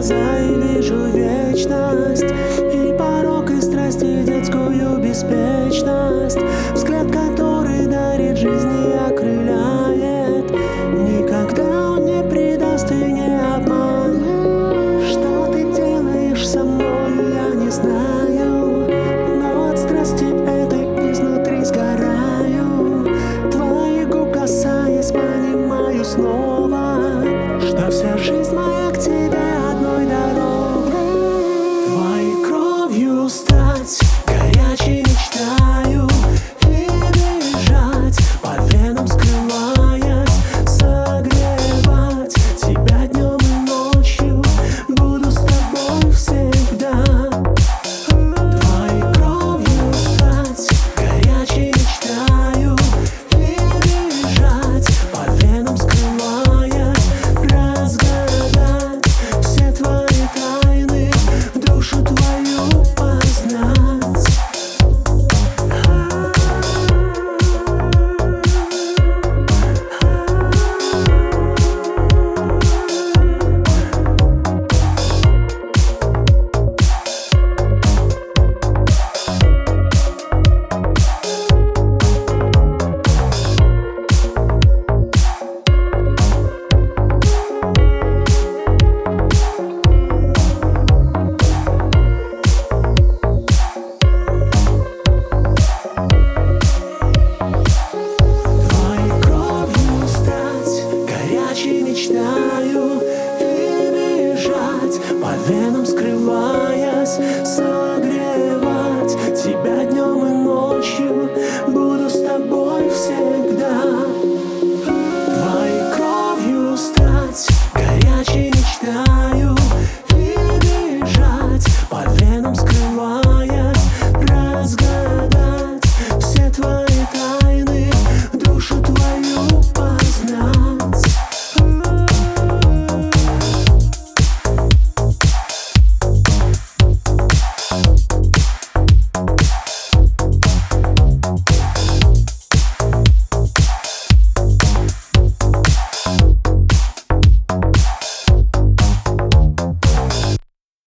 глаза и вижу вечность, и порок, и страсть, и детскую беспечность. Взгляд, который дарит жизнь и окрыляет. Никогда он не предаст и не обманет. Что ты делаешь со мной, я не знаю, но от страсти этой изнутри сгораю. Твоих губ касаясь, понимаю снова, что вся жизнь моя к тебе одной дорогой. Твоей кровью стать горячей мечтаю и бежать по венам, скрываясь, согревать тебя днем и ночью. Буду с тобой всегда. Твоей кровью стать горячей мечтаю и бежать по венам, скрываясь, разгадать все твои тайны, душу твою познать. Мечтаю и бежать по венам, скрываясь.